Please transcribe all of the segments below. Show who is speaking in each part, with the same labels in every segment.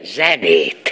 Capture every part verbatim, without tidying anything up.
Speaker 1: zenét.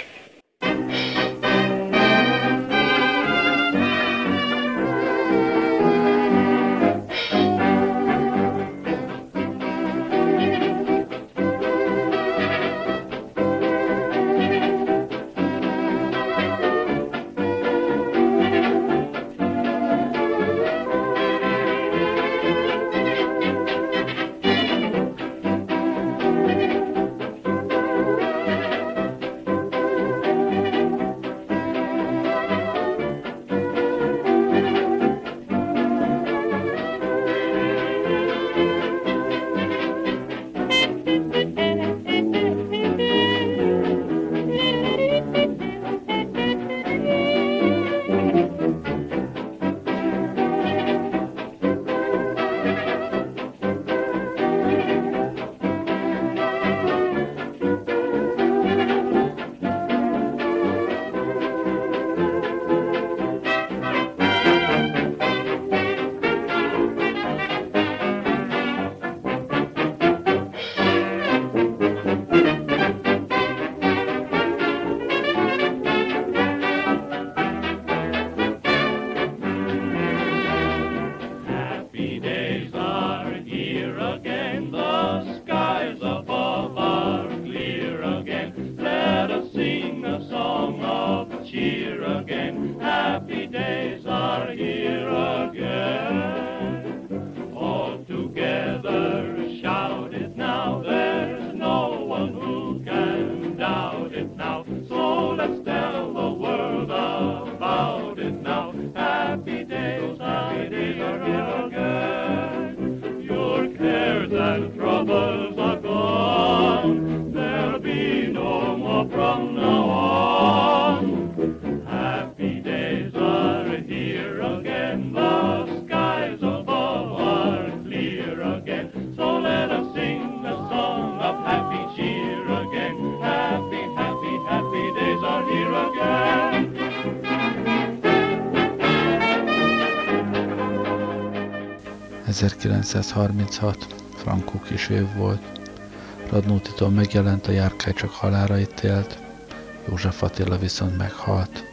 Speaker 2: ezerkilencszázharminchat frankó kis év volt. Radnótitól megjelent A járkály csak halálra ítélt, József Attila viszont meghalt.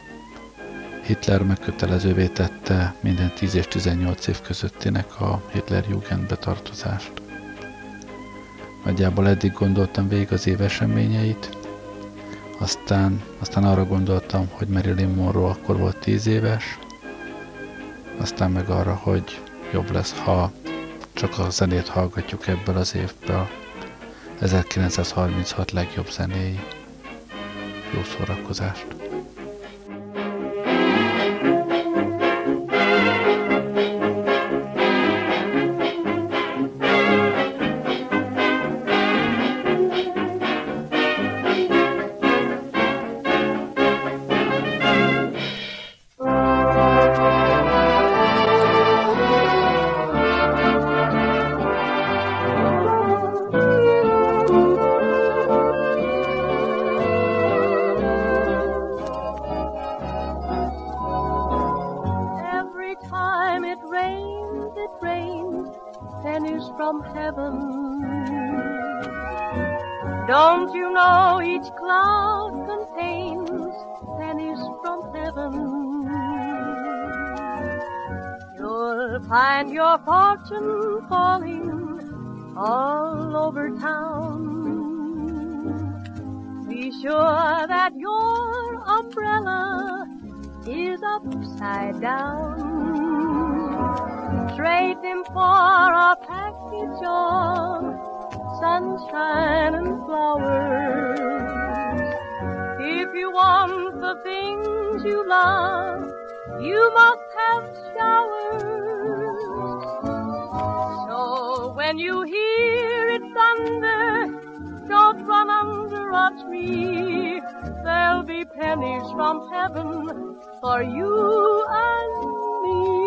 Speaker 2: Hitler megkötelezővé tette minden tíz és tizennyolc év közöttinek a Hitlerjugendbe tartozást. Nagyjából eddig gondoltam végig az év eseményeit, aztán, aztán arra gondoltam, hogy Marilyn Monroe akkor volt tíz éves, aztán meg arra, hogy jobb lesz, ha csak a zenét hallgatjuk ebből az évből. ezerkilencszázharminchat legjobb zenéi. Jó szórakozást!
Speaker 3: Don't you know each cloud contains pennies from heaven? You'll find your fortune falling all over town. Be sure that your umbrella is upside down. Trade them for a package of sunshine and flowers. If you want the things you love, you must have showers. So when you hear it thunder, don't run under a tree. There'll be pennies from heaven for you and me.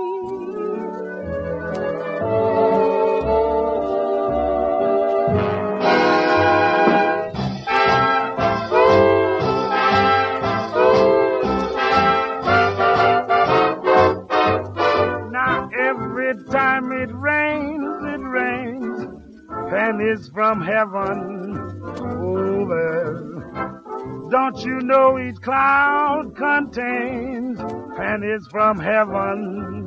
Speaker 4: Time it rains, it rains, pennies from heaven. Oh, there's Don't you know each cloud contains pennies from heaven?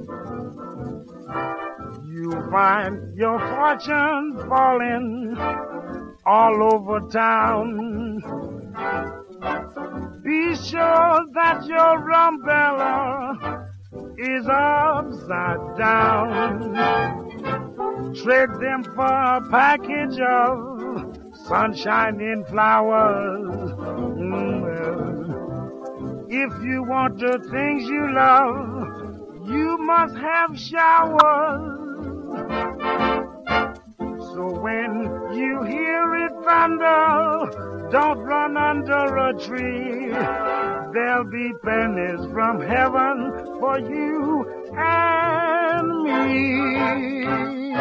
Speaker 4: You find your fortune falling all over town. Be sure that your umbrella is upside down. Trade them for a package of sunshine flowers. Mm, well, if you want the things you love, you must have showers. So when you hear it thunder, don't run under a tree. There'll be pennies from heaven for you and me.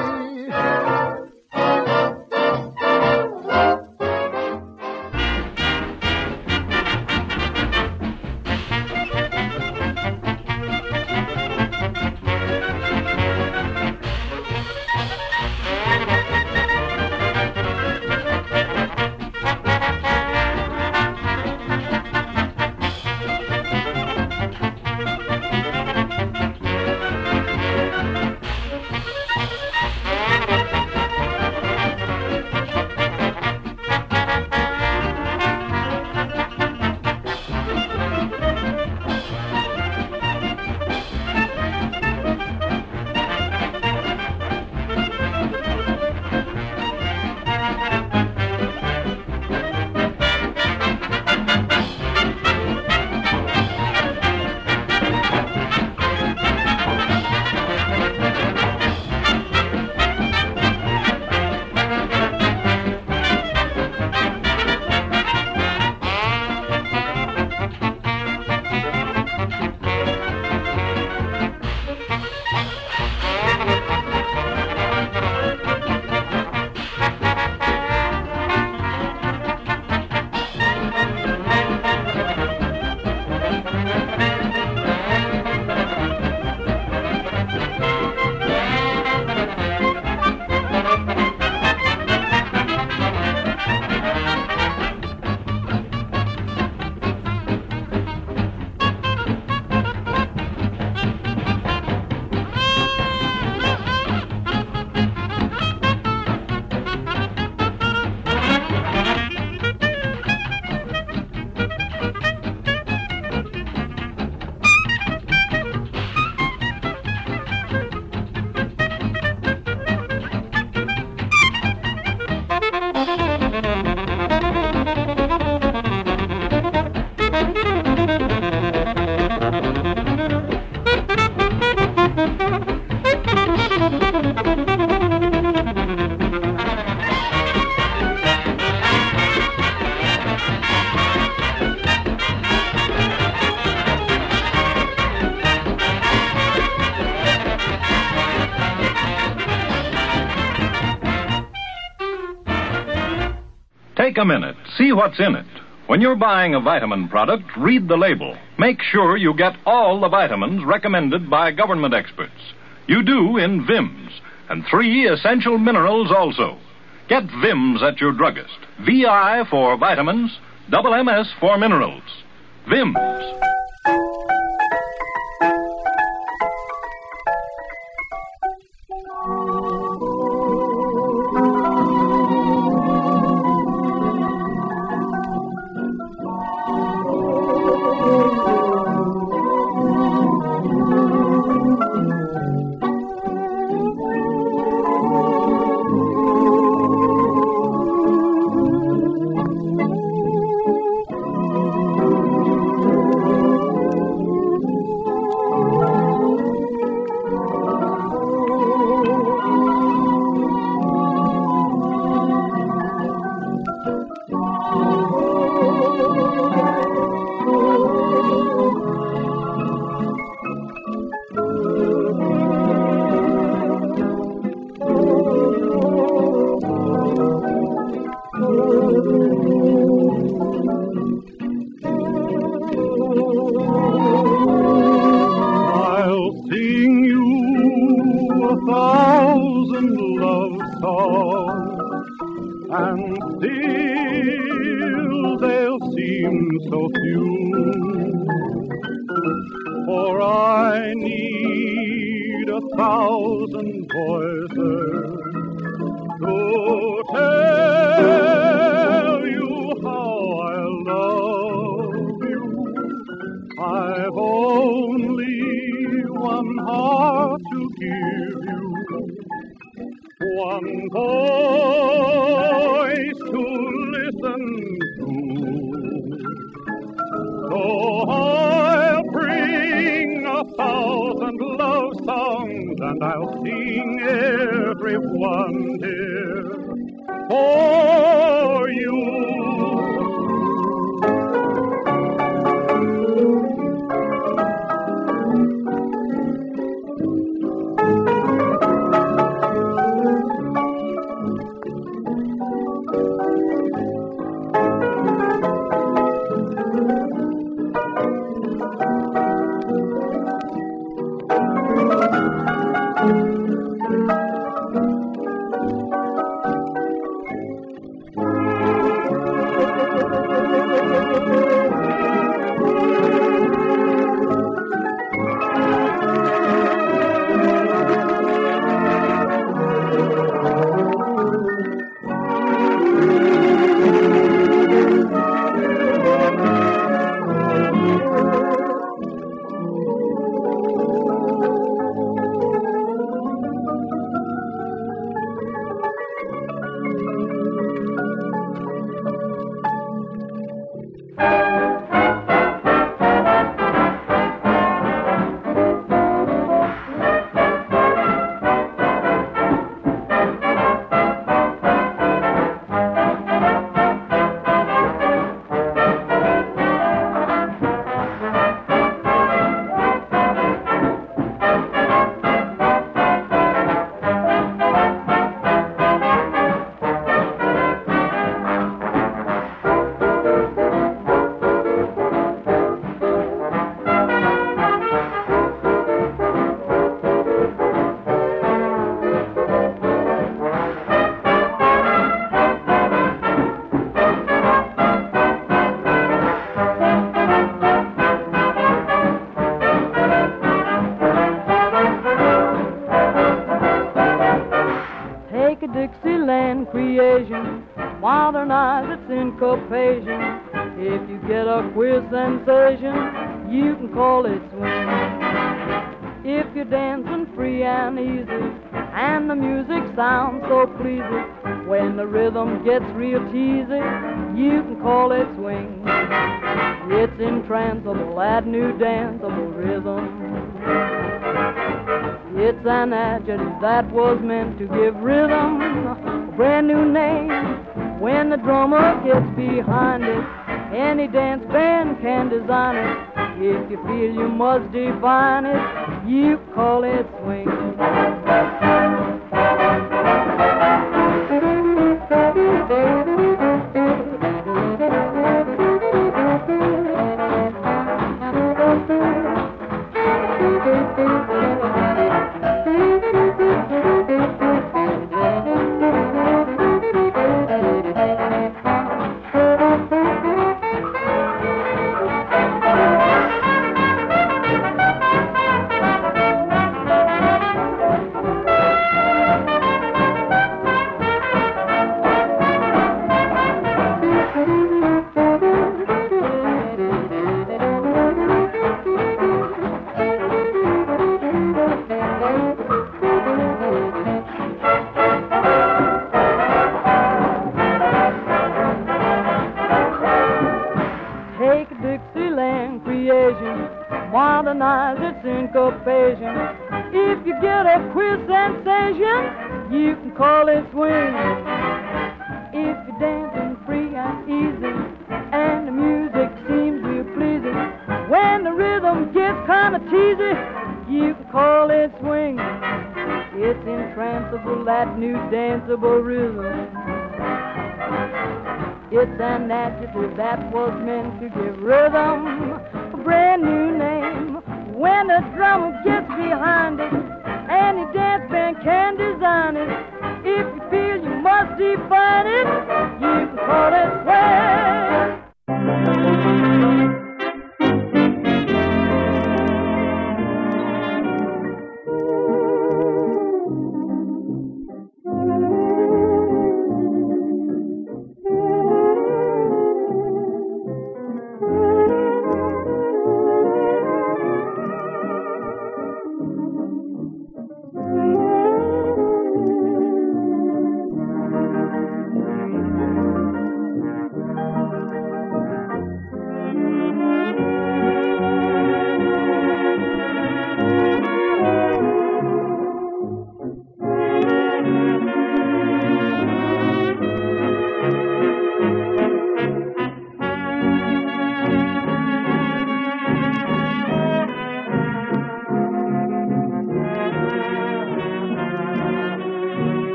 Speaker 1: Take a minute. See what's in it. When you're buying a vitamin product, read the label. Make sure you get all the vitamins recommended by government experts. You do in Vims, and three essential minerals also. Get Vims at your druggist. V I for vitamins, double M S for minerals. Vims.
Speaker 4: And still they'll
Speaker 5: seem so few. For I need a thousand voices to tell you how I love you. I've only one heart to give you, one voice to listen to. So I'll bring a thousand love songs, and I'll sing every one, dear, for you.
Speaker 3: Dixieland creation, modernize its syncopation. If you get a queer sensation, you can call it swing. If you're dancing free and easy, and the music sounds so pleasing, when the rhythm gets real cheesy, you can call it swing. It's entrancable, that new danceable rhythm. It's an adjective that was meant to give rhythm a brand new name. When the drummer gets behind it, any dance band can design it. If you feel you must define it, you call it swing. Dixieland creation, modernize its syncopation. If you get a queer sensation, you can call it swing. If you're dancing free and easy, and the music seems real pleasing, when the rhythm gets kind of cheesy, you can call it swing. It's entrancable, that new danceable rhythm. It's an adjective that was meant to give rhythm a brand new name. When the drummer gets behind it, any dance band can design it. If you feel you must define it, you can call it swing.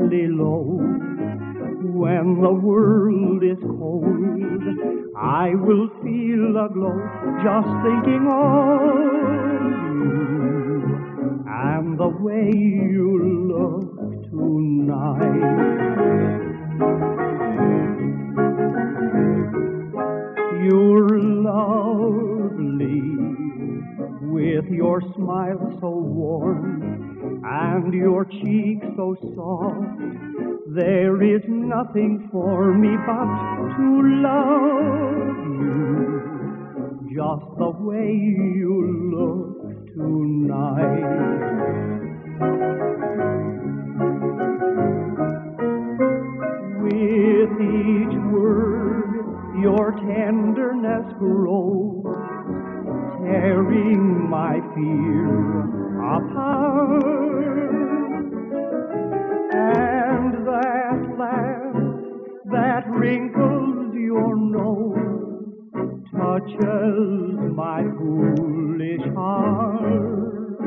Speaker 6: softly low. When the world is cold, I will feel a glow just thinking of you and the way you look tonight. You're lovely with your smile so warm and your cheek so soft. There is nothing for me but to love you just the way you look tonight. With each word your tenderness grows, tearing my fear apart. And that laugh that wrinkles your nose touches my foolish heart.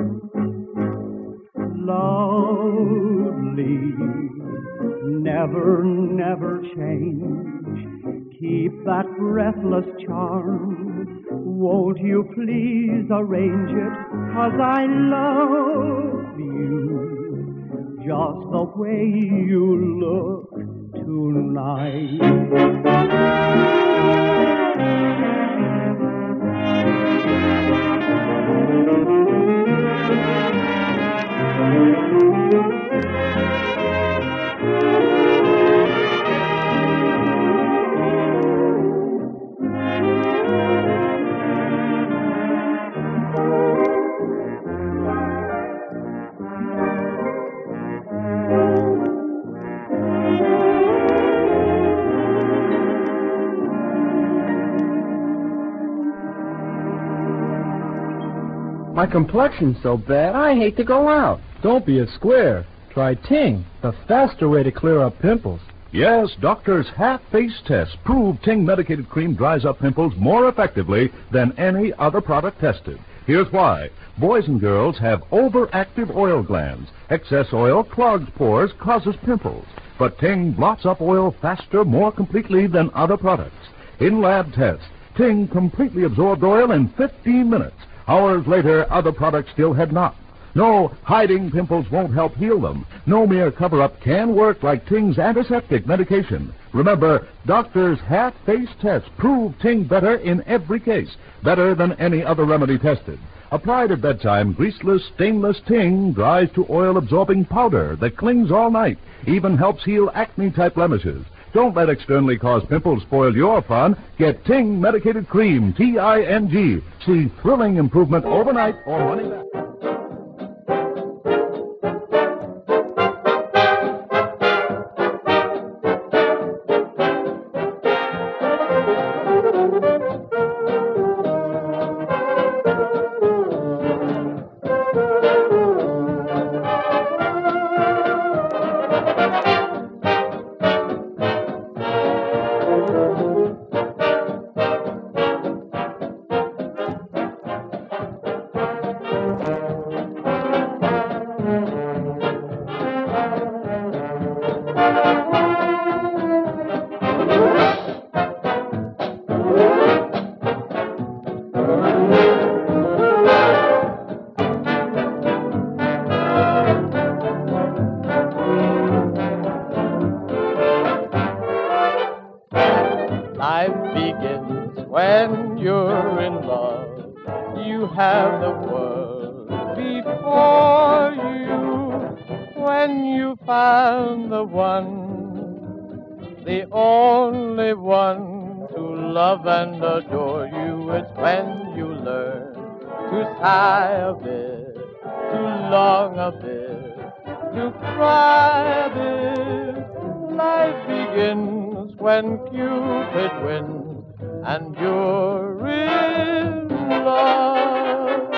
Speaker 6: Lovely, never, never change. Keep that breathless charm. Won't you please arrange it? 'Cause I love you just the way you look tonight.
Speaker 7: My complexion's so bad, I hate to go out.
Speaker 8: Don't be a square. Try Ting, the faster way to clear up pimples.
Speaker 9: Yes, doctors' half-face tests prove Ting medicated cream dries up pimples more effectively than any other product tested. Here's why. Boys and girls have overactive oil glands. Excess oil clogs pores, causes pimples. But Ting blots up oil faster, more completely than other products. In lab tests, Ting completely absorbed oil in fifteen minutes. Hours later, other products still had not. No, hiding pimples won't help heal them. No mere cover-up can work like Ting's antiseptic medication. Remember, doctors' half-face tests prove Ting better in every case, better than any other remedy tested. Applied at bedtime, greaseless, stainless Ting dries to oil-absorbing powder that clings all night, even helps heal acne-type blemishes. Don't let externally caused pimples spoil your fun. Get Ting Medicated Cream, T I N G. See thrilling improvement overnight or money back.
Speaker 10: Life begins when you're in love. You have the world before you. When you find the one, the only one to love and adore you, it's when you learn to sigh a bit, to long a bit, to cry a bit. Life begins when Cupid wins and you're in love.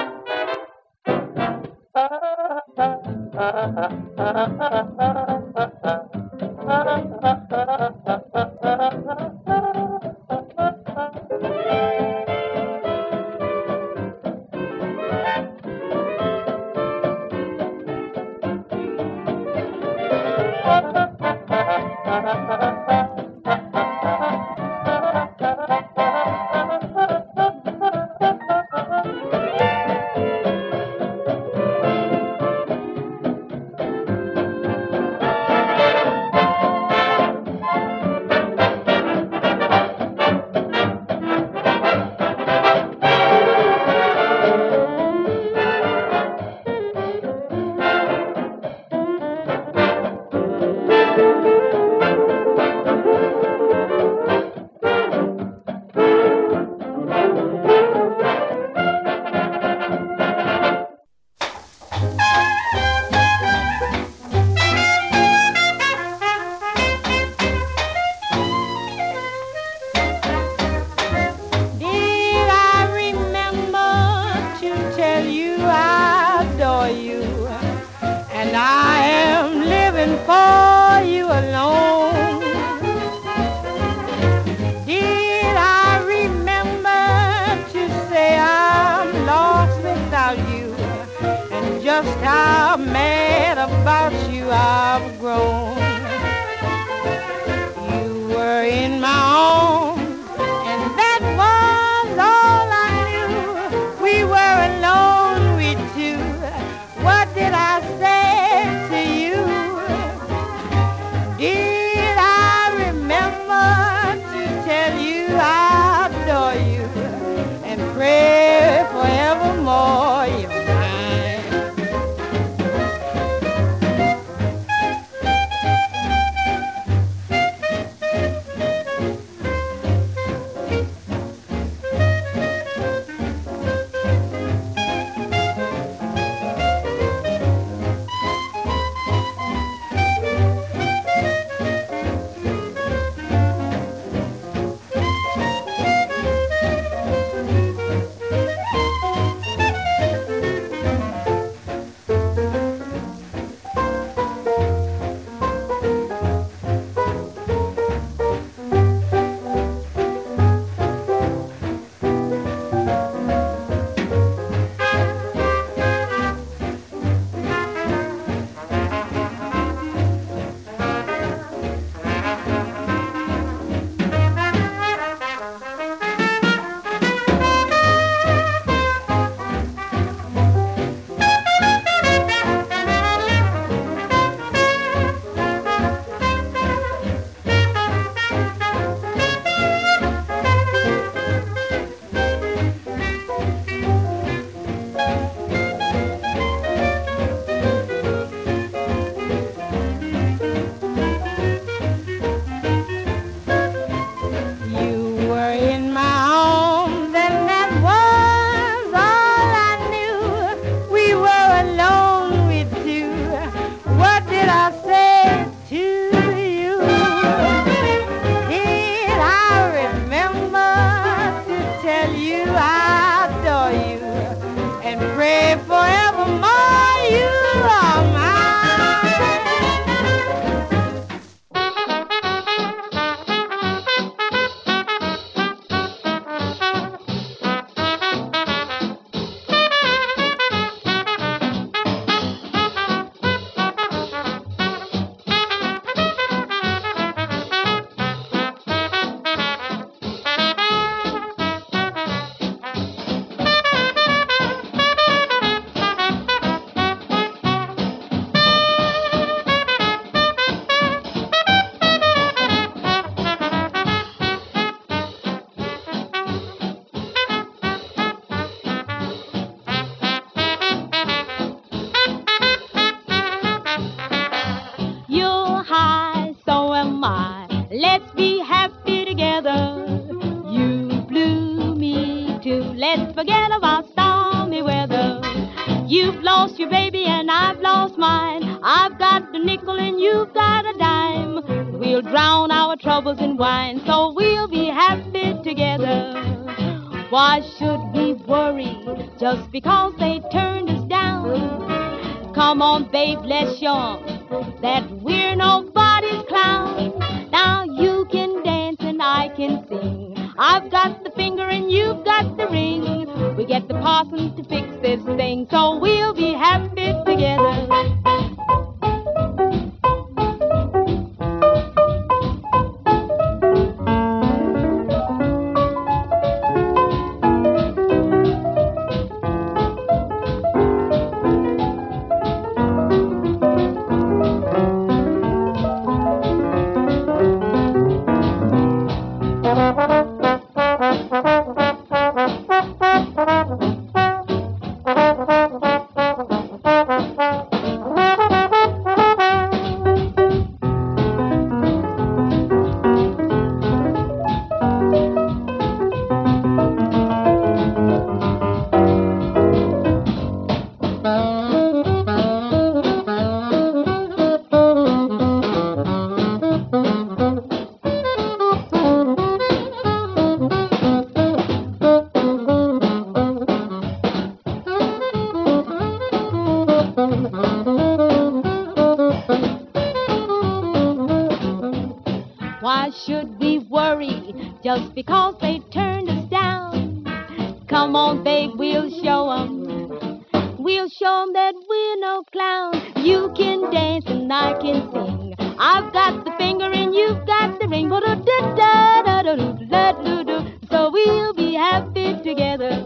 Speaker 11: and I am living for you alone. Did I remember to say I'm lost without you, and just how mad about you I've grown? You were in my arms, and that was all I knew. We were alone, we two. What did I say to you? Did I remember to tell you I adore you and pray forevermore you're mine?
Speaker 12: Just because they turned us down. Come on, babe, let's show 'em that we're nobody's clown. Now you can dance and I can sing. I've got the finger and you've got the ring. We get the parson to fix this thing, so we'll be happy together.
Speaker 11: Thank you.
Speaker 12: Why should we worry just because they turned us down? Come on, babe, we'll show 'em. We'll show 'em that we're no clown. You can dance and I can sing. I've got the finger and you've got the ring. So we'll be happy together.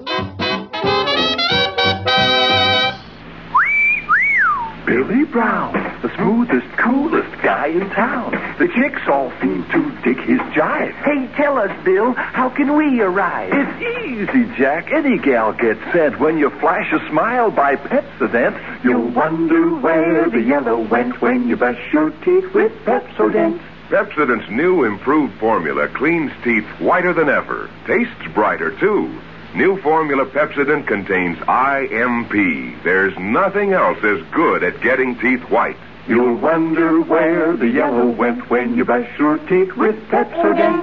Speaker 13: Billy Brown, the smoothest, coolest guy in town. The chicks all seem to dig his jive.
Speaker 14: Hey, tell us, Bill, how can we arrive?
Speaker 13: It's easy, Jack. Any gal gets sent. When you flash a smile by Pepsodent, you'll wonder where the yellow went when you brush your teeth with Pepsodent.
Speaker 15: Pepsodent's new improved formula cleans teeth whiter than ever. Tastes brighter, too. New formula Pepsodent contains I M P. There's nothing else as good at getting teeth white.
Speaker 13: You'll wonder where the yellow went when you brush your teeth with Pepsodent.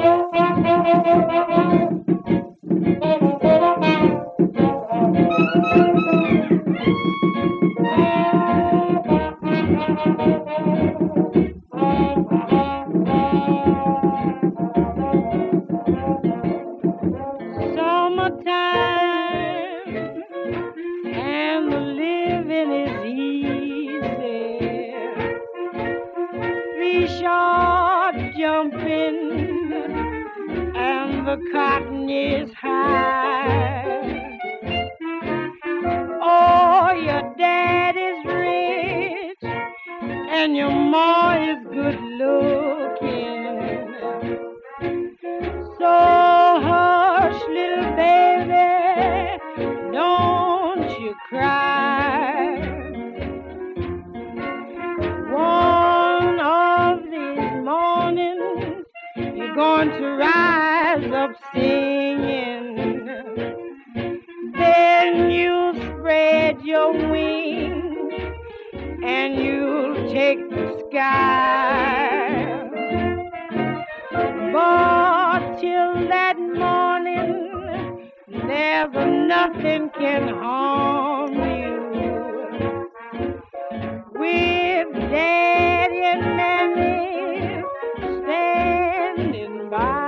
Speaker 11: Cotton is high. Oh, your dad is rich and your ma is good looking. So hush, little baby, don't you cry. One of these mornings you're going to rise up singing. Then you'll spread your wings and you'll take the sky. But till that morning, never nothing can harm you. With Daddy and Mammy standing by.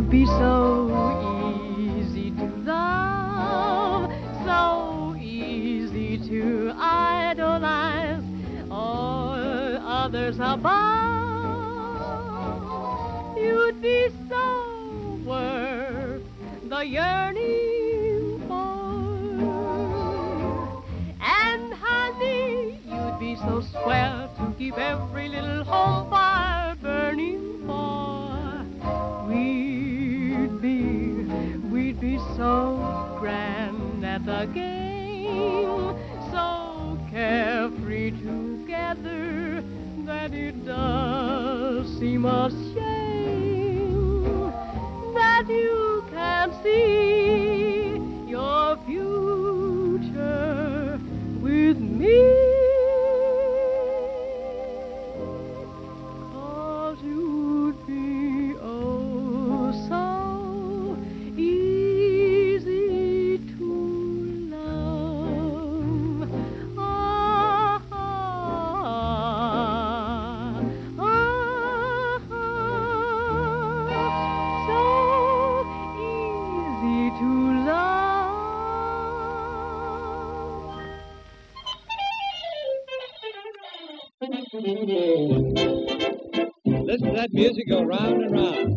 Speaker 3: you'd be so easy to love, so easy to idolize, or others above. You'd be so worth the yearning for. And honey, you'd be so swell to keep every little home fire burning for. We'd be, we'd be so grand at the game, so carefree together that it does seem a shame that you can't see your future with me. 'Cause you'd be oh so easy to love. Ah, ah, ah, ah, so easy to love.
Speaker 16: Listen to that music go round and round.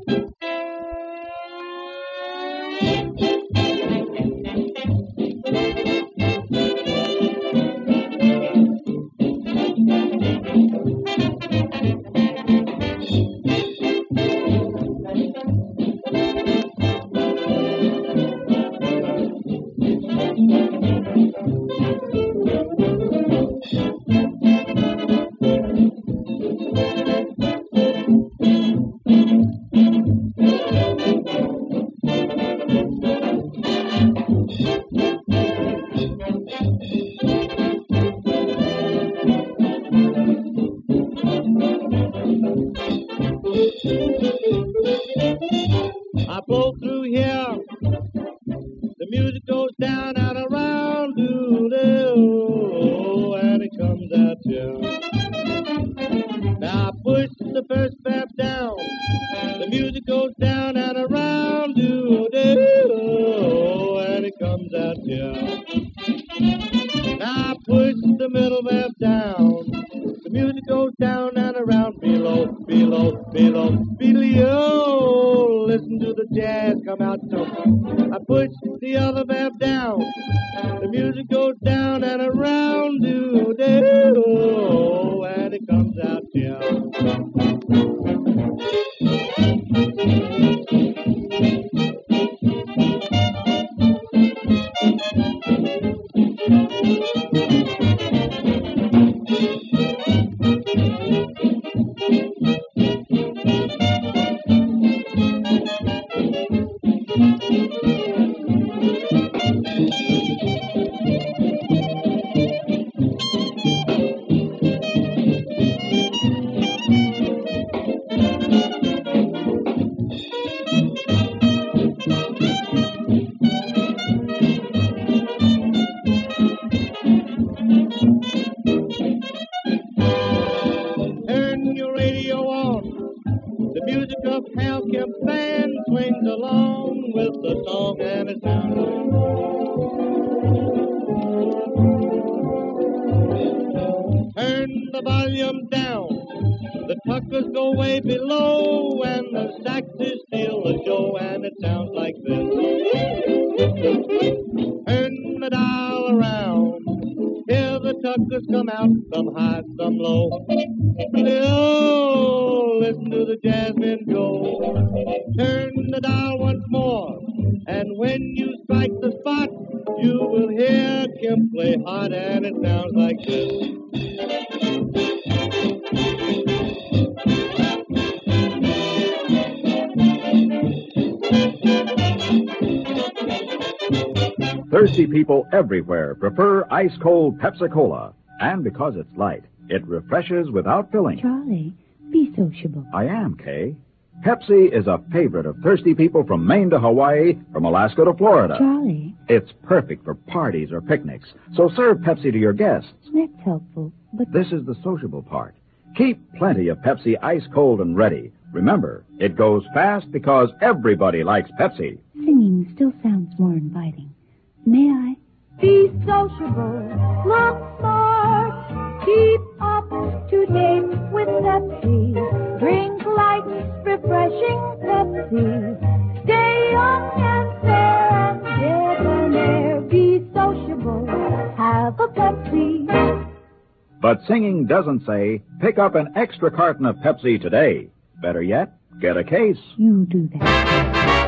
Speaker 16: I blow through here, the music goes down and around, doo-doo, and it comes out here. Now I push the first step down, the music goes down and around, doo-doo, and it comes out here. Now I push the middle valve down, the music goes down and around, below, below, below, below. Listen to the jazz come out jumping. I push the other valve down, the music goes down and around, do do, and it comes out here. Turn your radio on, the music of Hal Kemp band swings along with the song and its sound. Turn the volume down, the tuckers go way below, and the saxes steal the show, and it sounds like this. Turn the dial around, hear the tuckers come out, some high, some low. Oh, listen to the jazzmen go. Turn the dial once more, and when you strike the spot, you will hear Kemp play hot, and it sounds like this.
Speaker 17: Thirsty people everywhere prefer ice-cold Pepsi-Cola. And because it's light, it refreshes without filling.
Speaker 18: Charlie, be sociable.
Speaker 17: I am, Kay. Pepsi is a favorite of thirsty people from Maine to Hawaii, from Alaska to Florida.
Speaker 18: Charlie.
Speaker 17: It's perfect for parties or picnics, so serve Pepsi to your guests.
Speaker 18: That's helpful, but...
Speaker 17: This is the sociable part. Keep plenty of Pepsi ice-cold and ready Remember, it goes fast because everybody likes Pepsi.
Speaker 18: Singing still sounds more inviting. May I?
Speaker 3: Be sociable, look smart, keep up to date with Pepsi. Drink light, refreshing Pepsi. Stay young and fair and debonair. Be sociable, have a Pepsi.
Speaker 17: But singing doesn't say, pick up an extra carton of Pepsi today. Better yet, get a case.
Speaker 18: You do that.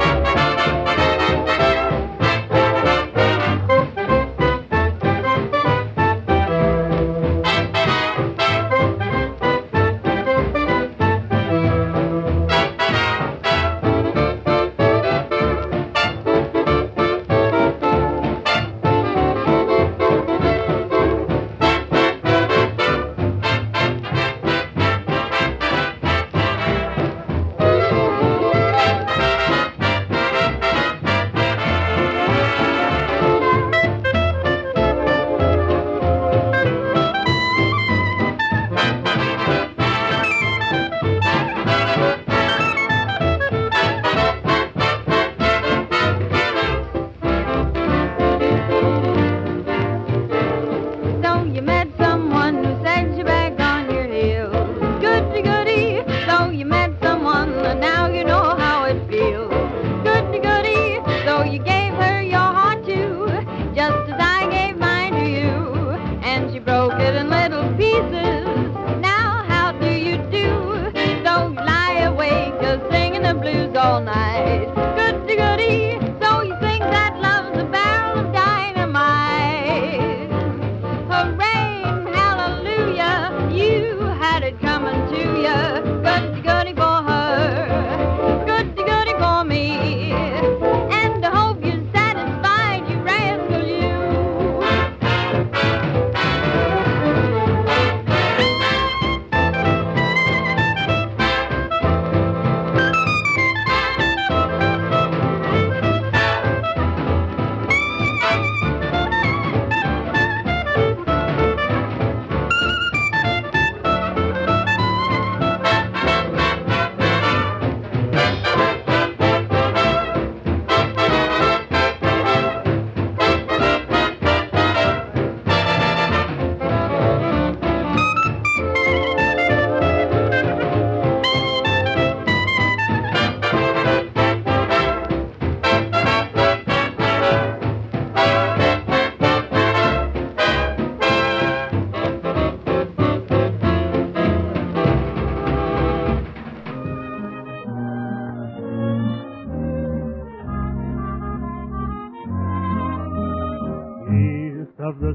Speaker 16: of the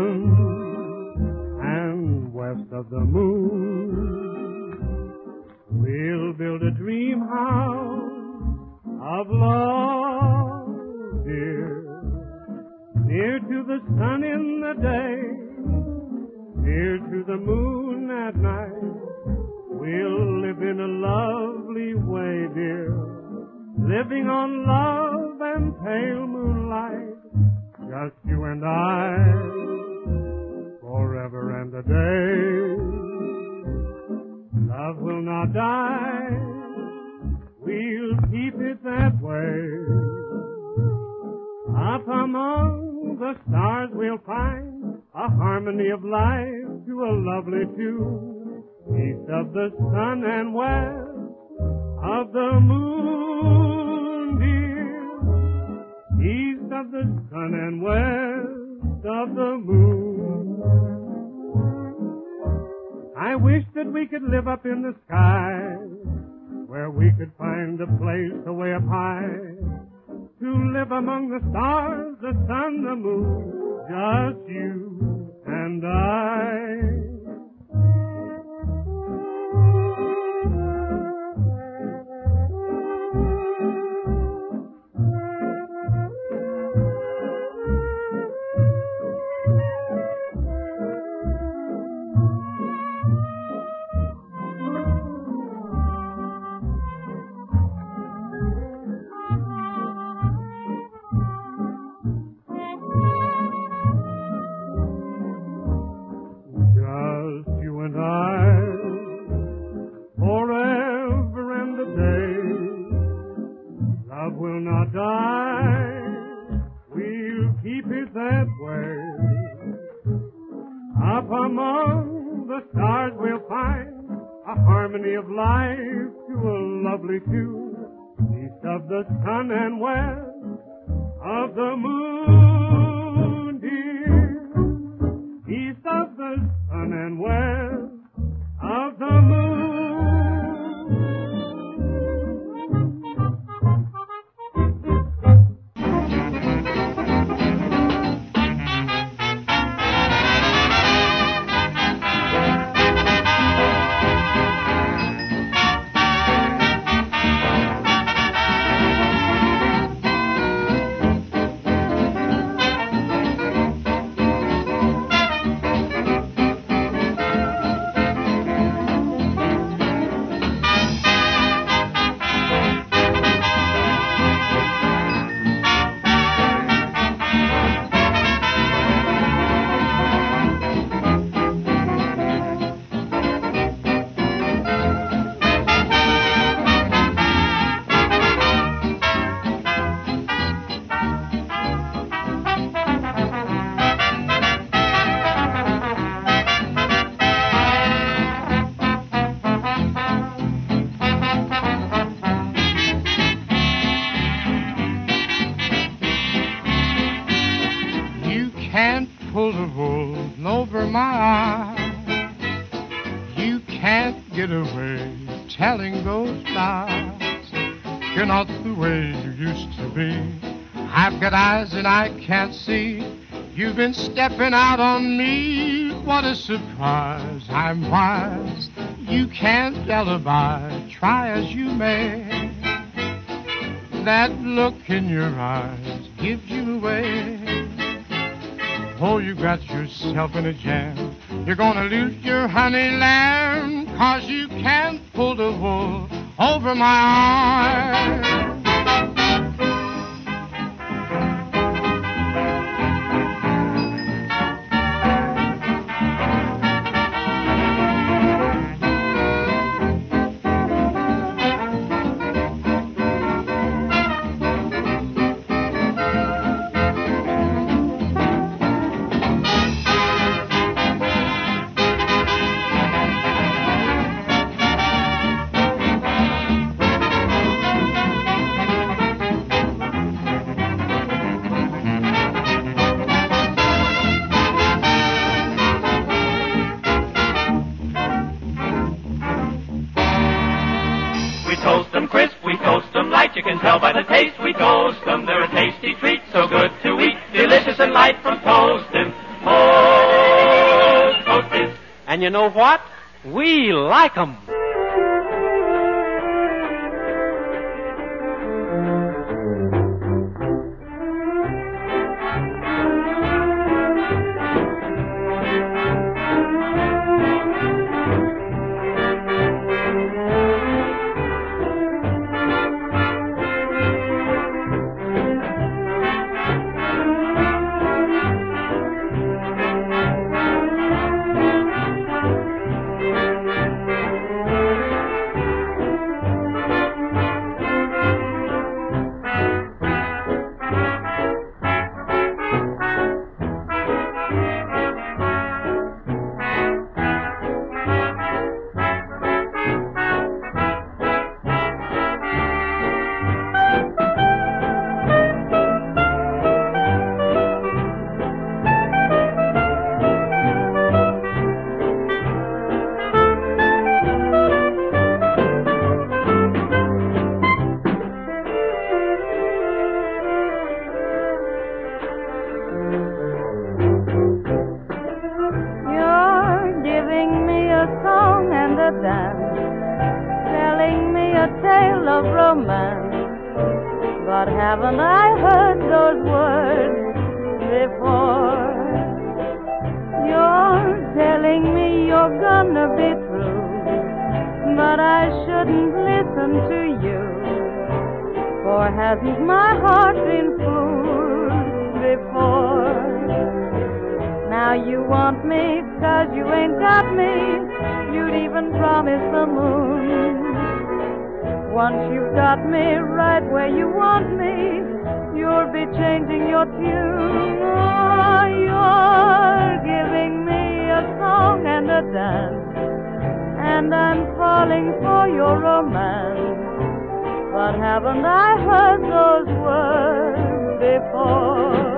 Speaker 16: sun and west of the moon. We'll build a dream house of love, dear, near to the sun in the day, near to the moon at night. We'll live in a lovely way, dear, living on love and pale moonlight. Just you and I, forever and a day. Love will not die, we'll keep it that way. Up among the stars we'll find a harmony of life to a lovely tune. East of the sun and west of the moon, dear. East of the sun and west of the moon. I wish that we could live up in the sky, where we could find a place away up high, to live among the stars, the sun, the moon, just you and I.
Speaker 6: die, we'll keep it that way. Up among the stars we'll find a harmony of life to a lovely tune, east of the sun and west of the moon, dear, east of the sun and west of the moon.
Speaker 10: Telling those lies, you're not the way you used to be. I've got eyes and I can't see. You've been stepping out on me. What a surprise, I'm wise. You can't alibi, try as you may. That look in your eyes gives you away. Oh, you got yourself in a jam. You're gonna lose your honey lamb, 'cause you can't pull the wool over my eyes.
Speaker 19: You can tell by the taste we toast them. They're a tasty treat, so good to eat. Delicious and light from toasting. Toast, Toasties.
Speaker 20: And you know what? We like them.
Speaker 3: But haven't I heard those words before? You're telling me you're gonna be true, but I shouldn't listen to you. For hasn't my heart been fooled before? Now you want me 'cause you ain't got me. You'd even promise the moon. once you've got me right where you want me, you'll be changing your tune. Oh, you're giving me a song and a dance, and I'm falling for your romance. But haven't I heard those words before?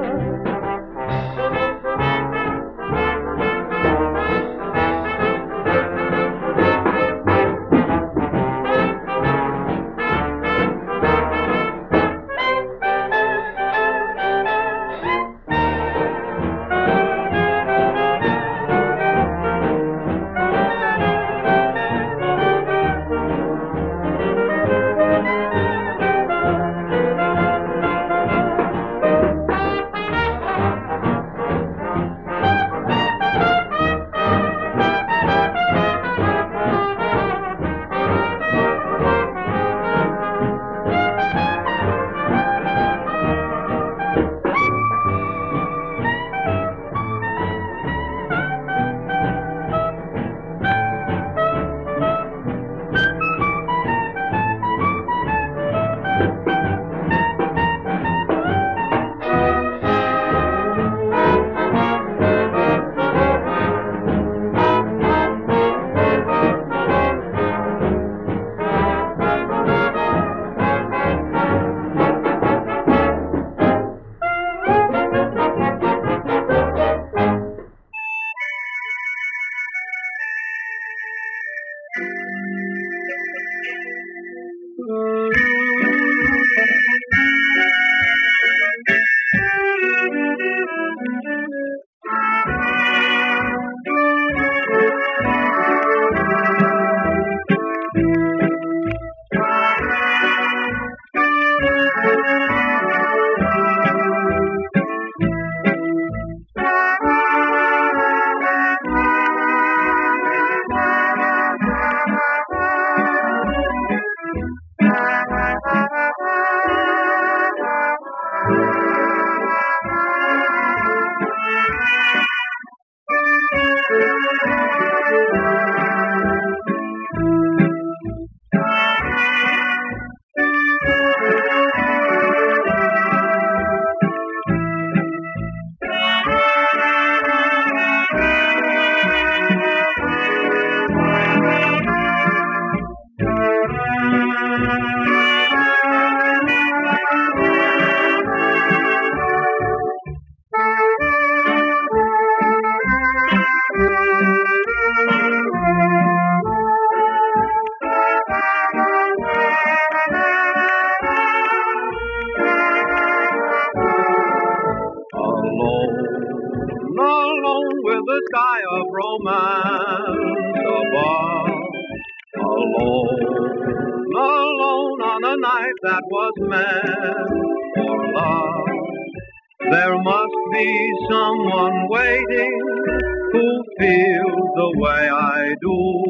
Speaker 21: That was meant for love. There must be someone waiting who feels the way I do.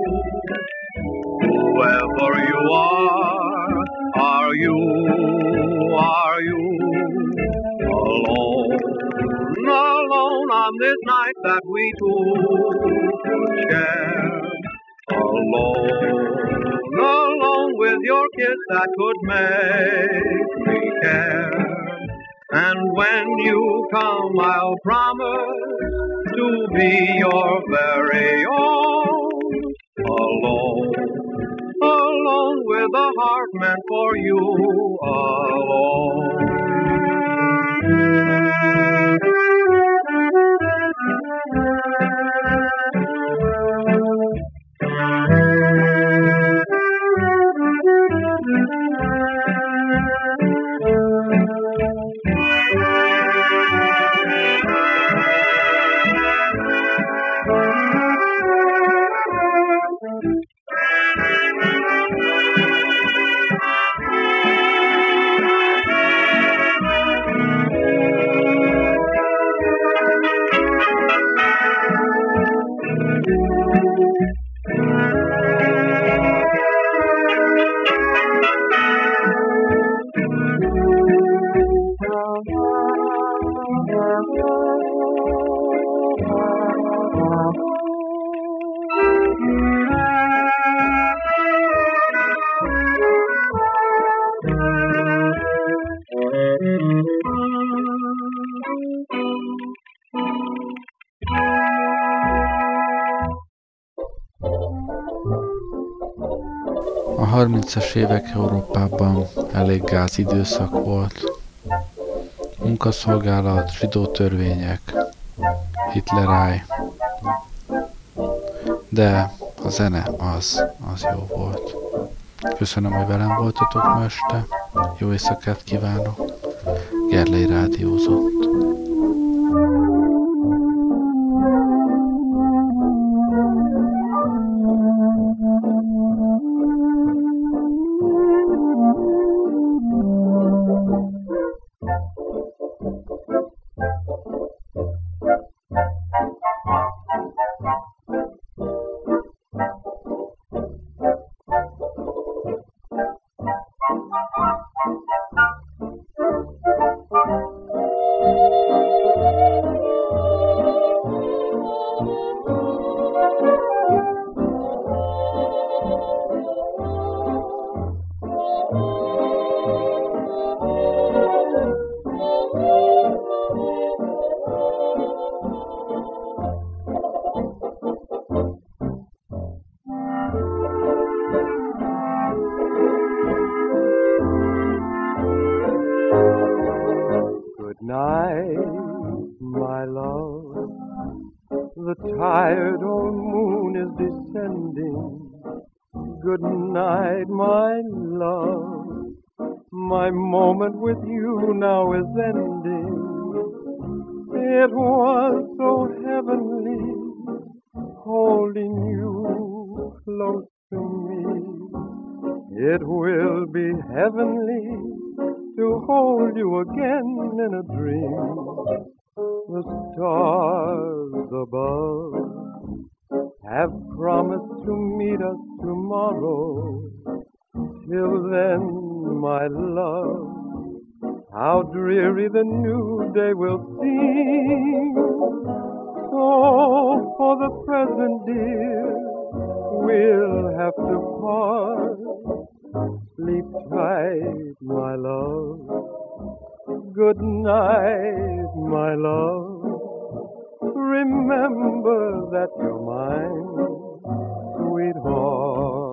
Speaker 21: Whoever you are, are you, are you alone, alone on this night that we two share? Alone, alone with your kiss that could make me care. And when you come, I'll promise to be your very own. Alone, alone with a heart meant for you alone.
Speaker 2: harmincas évek Európában elég gáz időszak volt. Munkaszolgálat, zsidó törvények, Hitleráj. De a zene az, az jó volt. Köszönöm, hogy velem voltatok ma este. Jó éjszakát kívánok. Gerlei rádiózott.
Speaker 6: Good night, my love. Remember that you're mine, sweetheart.